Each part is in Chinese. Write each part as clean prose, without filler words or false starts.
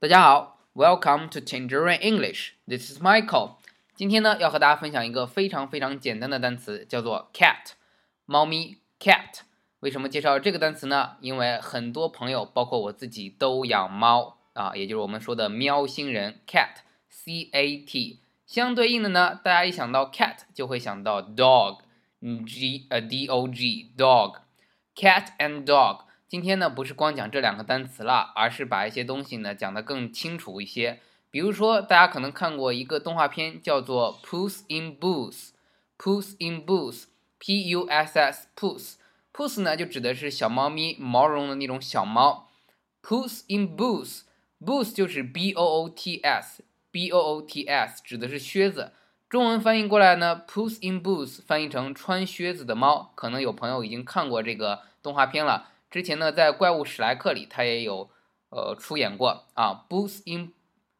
大家好 ，Welcome to Tangerine English. This is Michael. 今天呢，要和大家分享一个非常简单的单词，叫做 cat， 猫咪 cat。为什么介绍这个单词呢？因为很多朋友，包括我自己都养猫啊，也就是我们说的喵星人 cat C-A-T。相对应的呢，大家一想到 cat 就会想到 dog，D-O-G dog。cat and dog。今天呢，不是光讲这两个单词了，而是把一些东西呢讲得更清楚一些。比如说，大家可能看过一个动画片，叫做 Puss in Boots。Puss in Boots，P-U-S-S Puss 呢就指的是小猫咪，毛茸的那种小猫。Puss in Boots 就是 B-O-O-T-S 指的是靴子。中文翻译过来呢 ，Puss in Boots 翻译成穿靴子的猫。可能有朋友已经看过这个动画片了。之前呢，在怪物史莱克里，他也有出演过啊。Puss in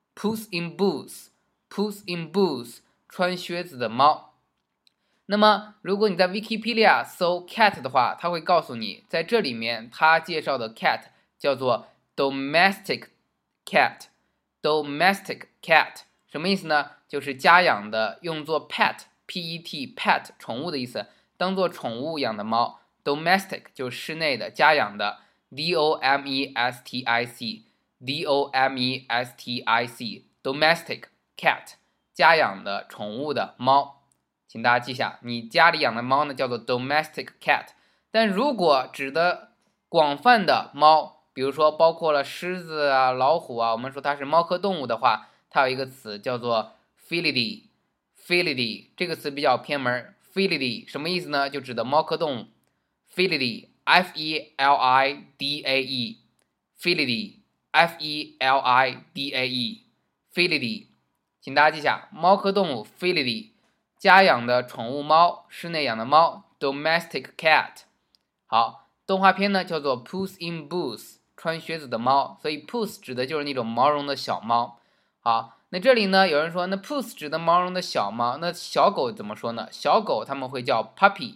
Boots 穿靴子的猫。那么，如果你在 Wikipedia 搜 cat 的话，它会告诉你，在这里面它介绍的 cat 叫做 domestic cat。domestic cat 什么意思呢？就是家养的，用作 pet pet 宠物的意思，当做宠物养的猫。domestic 就是室内的，家养的 domestic domestic cat 家养的宠物的猫。请大家记下，你家里养的猫呢叫做 domestic cat。但如果指的广泛的猫，比如说包括了狮子啊、老虎啊，我们说它是猫科动物的话，它有一个词叫做 felidae。这个词比较偏门。felidae 什么意思呢？就指的猫科动物。felidae F-E-L-I-D-A-E felidae 请大家记下，猫科动物 felidae， 家养的宠物猫，室内养的猫 domestic cat。 好，动画片呢叫做 Puss in Boots， 穿靴子的猫，所以 Puss 指的就是那种毛绒的小猫。好，那这里呢有人说，那 Puss 指的毛绒的小猫，那小狗怎么说呢？小狗他们会叫 puppy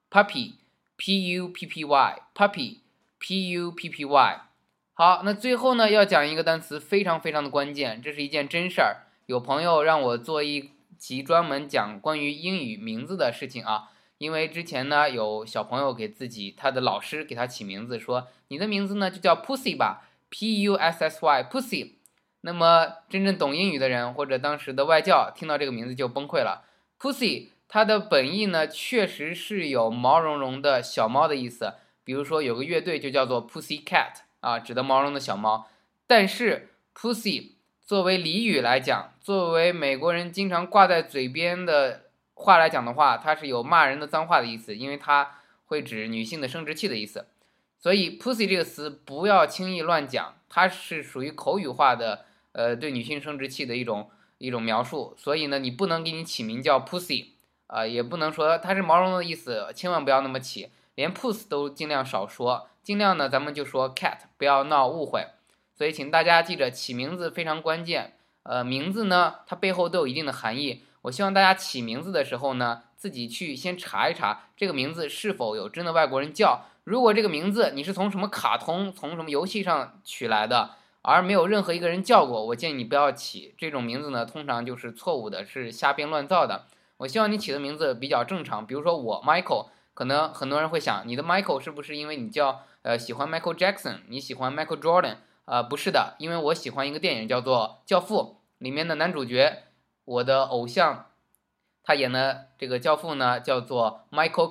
P-U-P-P-Y。 好，那最后呢要讲一个单词，非常的关键，这是一件真事儿。有朋友让我做一集专门讲关于英语名字的事情啊，因为之前呢有小朋友给自己他的老师给他起名字，说你的名字呢就叫 Pussy 吧， P-U-S-S-Y Pussy。 那么真正懂英语的人或者当时的外教听到这个名字就崩溃了。 Pussy它的本意呢，确实是有毛茸茸的小猫的意思，比如说有个乐队就叫做 Pussy Cat 啊，指的毛茸的小猫。但是 Pussy 作为俚语来讲，作为美国人经常挂在嘴边的话来讲的话，它是有骂人的脏话的意思，因为它会指女性的生殖器的意思。所以 Pussy 这个词不要轻易乱讲，它是属于口语化的对女性生殖器的一种描述。所以呢，你不能给你起名叫 Pussy。也不能说它是毛绒的意思，千万不要那么起，连 puss 都尽量少说，尽量呢咱们就说 cat， 不要闹误会。所以请大家记着，起名字非常关键。名字呢它背后都有一定的含义，我希望大家起名字的时候呢，自己去先查一查这个名字是否有真的外国人叫。如果这个名字你是从什么卡通、从什么游戏上取来的，而没有任何一个人叫过，我建议你不要起这种名字呢，通常就是错误的，是瞎编乱造的。我希望你起的名字比较正常，比如说我 Michael， 可能很多人会想，你的 Michael 是不是因为你叫喜欢 Michael Jackson， 你喜欢 Michael Jordan？不是的，因为我喜欢一个电影叫做《教父》，里面的男主角，我的偶像，他演的这个教父呢叫做 Michael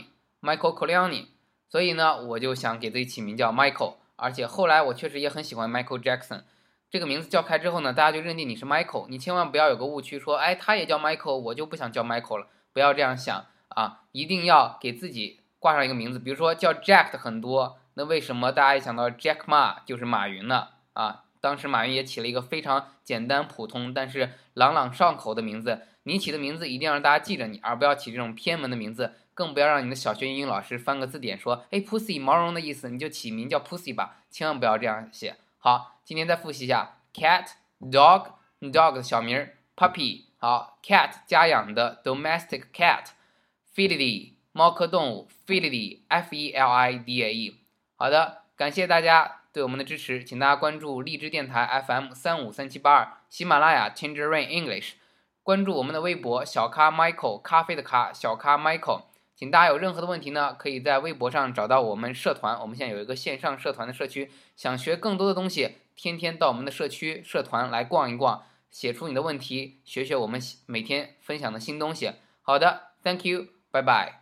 Corleone， 所以呢我就想给自己起名叫 Michael， 而且后来我确实也很喜欢 Michael Jackson。这个名字叫开之后呢，大家就认定你是 Michael， 你千万不要有个误区，说，哎，他也叫 Michael， 我就不想叫 Michael 了，不要这样想啊，一定要给自己挂上一个名字。比如说叫 Jack 的很多，那为什么大家一想到 Jack Ma 就是马云呢？啊，当时马云也起了一个非常简单普通，但是朗朗上口的名字。你起的名字一定要让大家记着你，而不要起这种偏门的名字，更不要让你的小学英语老师翻个字典说，哎 ，Pussy 毛绒的意思，你就起名叫 Pussy 吧，千万不要这样写。好，今天再复习一下 cat、dog 的小名 puppy， 好 cat 家养的 domestic cat， felidae 猫科动物 felidae F-E-L-I-D-A-E。 好的，感谢大家对我们的支持，请大家关注荔枝电台 FM35372、喜马拉雅 Tangerine English， 关注我们的微博小咖 Michael 咖啡的咖小咖 Michael。请大家有任何的问题呢，可以在微博上找到我们社团，我们现在有一个线上社团的社区，想学更多的东西，天天到我们的社区社团来逛一逛，写出你的问题，学学我们每天分享的新东西。好的 ，Thank you，拜拜。